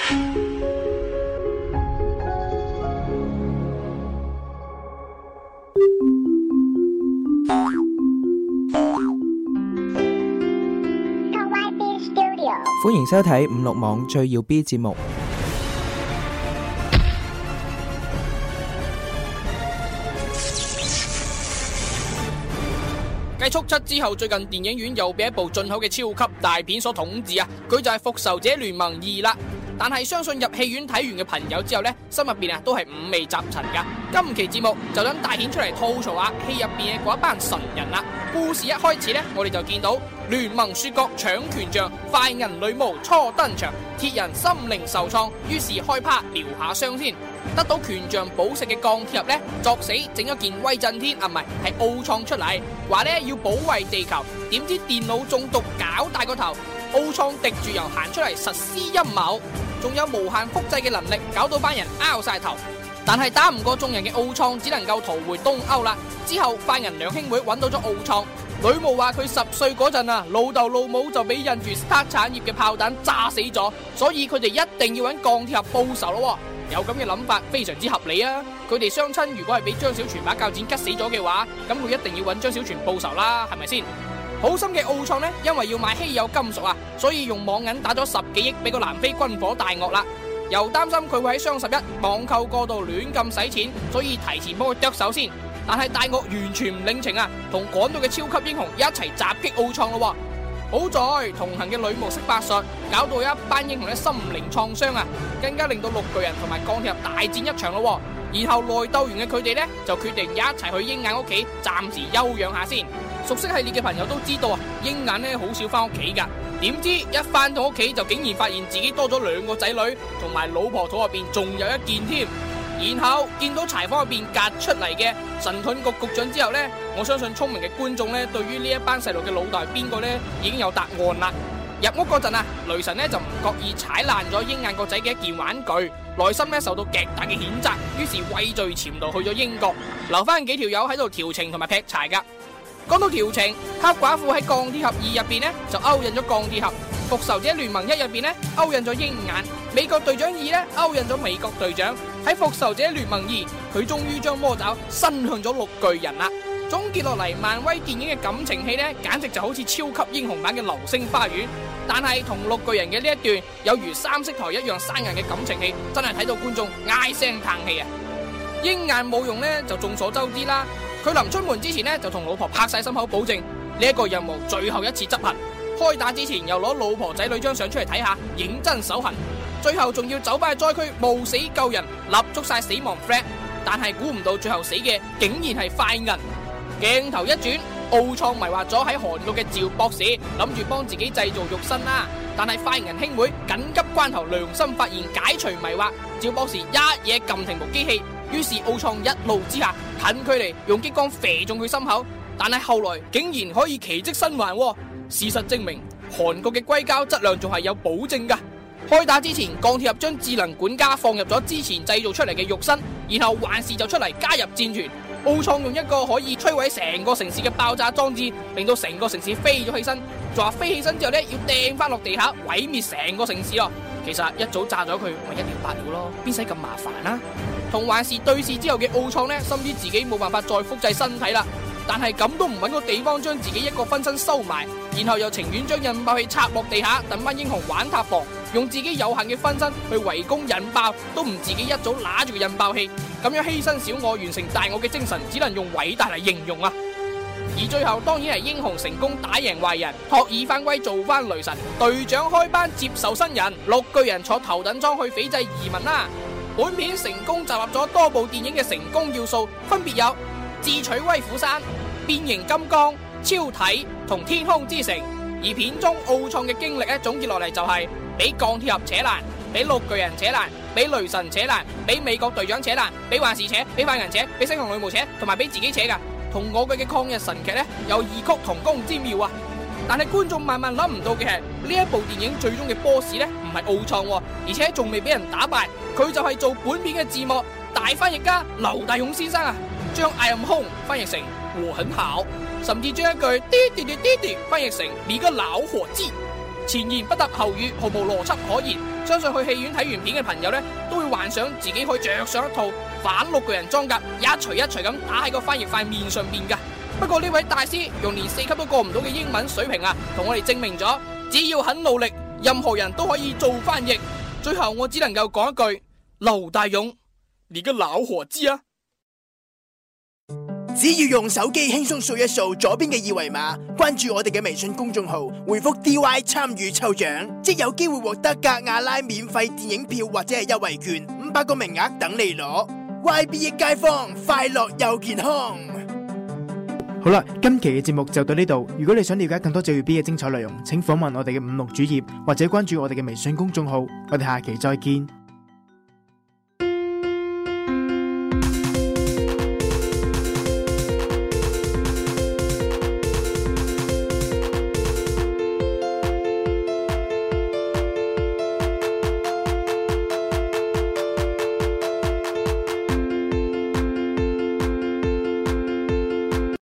歡迎收睇56網最耀 B 節目。 繼速七之後，最近電影院又被一部進口嘅超級大片所統治啊！佢就係《復仇者聯盟2》啦。但係相信入戲院睇完嘅朋友之後呢，心入邊都係五味雜陳噶。今期節目就等大顯出嚟吐槽下戲入邊嘅嗰一班神人啦。故事一開始呢，我哋就見到聯盟雪國搶權杖，快銀女巫初登場，鐵人心靈受創，於是開趴療下傷先。得到權杖寶石嘅鋼鐵俠呢，作死整咗件威震天係奧創出嚟，話呢要保衛地球，點知電腦中毒搞大個頭，奧創滴住油行出嚟實施陰謀，仲有無限複製嘅能力，搞到班人拗晒頭。但係打唔過眾人嘅奧創，只能夠逃回東歐啦。之後快銀兩兄妹揾到咗奧創，女巫話佢10歲嗰陣啊，老豆老母就俾印住 Stark 產業嘅炮彈炸死咗，所以佢哋一定要揾鋼鐵俠報仇咯。有咁嘅諗法非常之合理啊！佢哋雙親如果係俾張小泉把鉸剪拮死咗嘅話，咁佢一定要揾張小泉報仇啦，係咪先？好心嘅奧創呢，因為要買稀有金屬啊，所以用網銀打咗10幾億俾個南非軍火大鱷啦。又擔心佢會喺雙11網購過度亂咁使錢，所以提前幫佢剁手先。但係大鱷完全唔領情啊，同趕到嘅超級英雄一齊襲擊奧創咯。好在同行嘅女巫識法術，搞到一班英雄嘅心靈創傷啊，更加令到綠巨人同埋鋼鐵俠大戰一場咯。然後內鬥完嘅佢哋呢，就決定一齊去鷹眼屋企暫時休養下先。熟悉系列嘅朋友都知道啊，鷹眼呢好少翻屋企噶，點知一翻到屋企就竟然發現自己多咗2個仔女，同埋老婆肚入邊仲有一件添。然後見到柴房入邊夾出嚟嘅神盾局局長之後呢，我相信聰明嘅觀眾呢，對於呢一班細路嘅老大係邊個呢，已經有答案啦。入屋嗰陣啊，雷神呢就唔覺意踩爛咗鷹眼個仔嘅一件玩具，內心呢受到極大嘅譴責，於是畏罪潛逃去咗英國，留翻幾條友喺度調情同埋劈柴噶。講到調情，黑寡婦喺鋼鐵俠2入邊呢就勾引咗鋼鐵俠，復仇者聯盟1入邊呢勾引咗鷹眼，美國隊長2呢勾引咗美國隊長。喺復仇者聯盟2，佢終於將魔爪伸向咗綠巨人啦。總結落嚟，漫威電影嘅感情戲呢，簡直就好似超級英雄版嘅流星花園。但係同綠巨人嘅呢一段有如三色台一樣生硬嘅感情戲，真係睇到觀眾唉聲嘆氣啊！鷹眼冇用呢，就眾所周知啦。佢臨出門之前呢，就同老婆拍晒心口保證呢一個任務最後一次執行。開打之前又攞老婆仔女張相出嚟睇下，認真手痕。最後仲要走翻去災區冒死救人，立足晒死亡 flag。但係估唔到最後死嘅竟然係快銀。鏡頭一轉，奧創迷惑咗喺韓國嘅趙博士，諗住幫自己製造肉身啦。但係快銀兄妹緊急關頭良心發現，解除迷惑，趙博士一嘢撳停部機器。於是奧創一怒之下，近距離用激光射中佢心口，但係後來竟然可以奇蹟生還。事實證明，韓國嘅硅膠質量仲係有保證噶。開打之前，鋼鐵俠將智能管家放入咗之前製造出嚟嘅肉身，然後幻視就出嚟加入戰團。奧創用一個可以摧毀成個城市嘅爆炸裝置，令到成個城市飛咗起身，仲話飛起身之後呢，要掟翻落地下毀滅成個城市咯。其實一早炸咗佢咪一了百了咯，邊使咁麻煩啊？同幻視對視之後嘅奧創呢，深知自己冇辦法再複製身體啦，但係咁都唔揾個地方將自己一個分身收埋，然後又情願將引爆器插落地下，等班英雄玩塔防，用自己有限嘅分身去圍攻引爆，都唔自己一早拿住個引爆器，咁樣犧牲小我完成大我嘅精神，只能用偉大嚟形容啊！而最後當然係英雄成功打贏壞人，托爾翻歸做翻雷神，隊長開班接受新人，綠巨人坐頭等艙去斐濟移民啦。本片成功集合咗多部電影嘅成功要素，分別有智取威虎山、變形金剛、超體同天空之城。而片中奧創嘅經歷咧，總結落嚟就係俾鋼鐵俠扯爛，俾綠巨人扯爛，俾雷神扯爛，俾美國隊長扯爛，俾幻視扯，俾快銀扯，俾星穹女巫扯，同埋俾自己扯噶。同我嘅抗日神劇咧有異曲同工之妙啊！但係觀眾萬萬諗唔到嘅係，呢一部電影最終嘅 boss 咧唔係奧創，而且仲未俾人打敗，佢就係做本片嘅字幕大翻譯家劉大勇先生啊，將 I am home 翻譯成我很好，甚至將一句滴滴滴滴滴翻譯成你個老伙計。 前言不搭後語，毫無邏輯可言。相信去戲院睇完片嘅朋友呢，都會幻想自己可以着上一套反綠巨人裝甲，一錘一錘咁打喺個翻譯塊面上邊噶。不過呢位大師用連4級都過唔到嘅英文水平啊，同我哋證明咗，只要肯努力，任何人都可以做翻譯。最後我只能夠講一句：劉大勇，你個老伙計啊！ 只要用手機輕鬆掃一掃左邊嘅二維碼，關注我哋嘅微信公眾號，回覆 DY 參與抽獎，即有機會獲得格亞拉免費電影票或者係優惠券，500個名額等你攞。YB 益街坊，快樂又健康。 好啦，今期嘅節目就到呢度。如果你想了解更多最耀 B 嘅精彩內容，請訪問我哋嘅56主頁或者關注我哋嘅微信公眾號。我哋下期再見。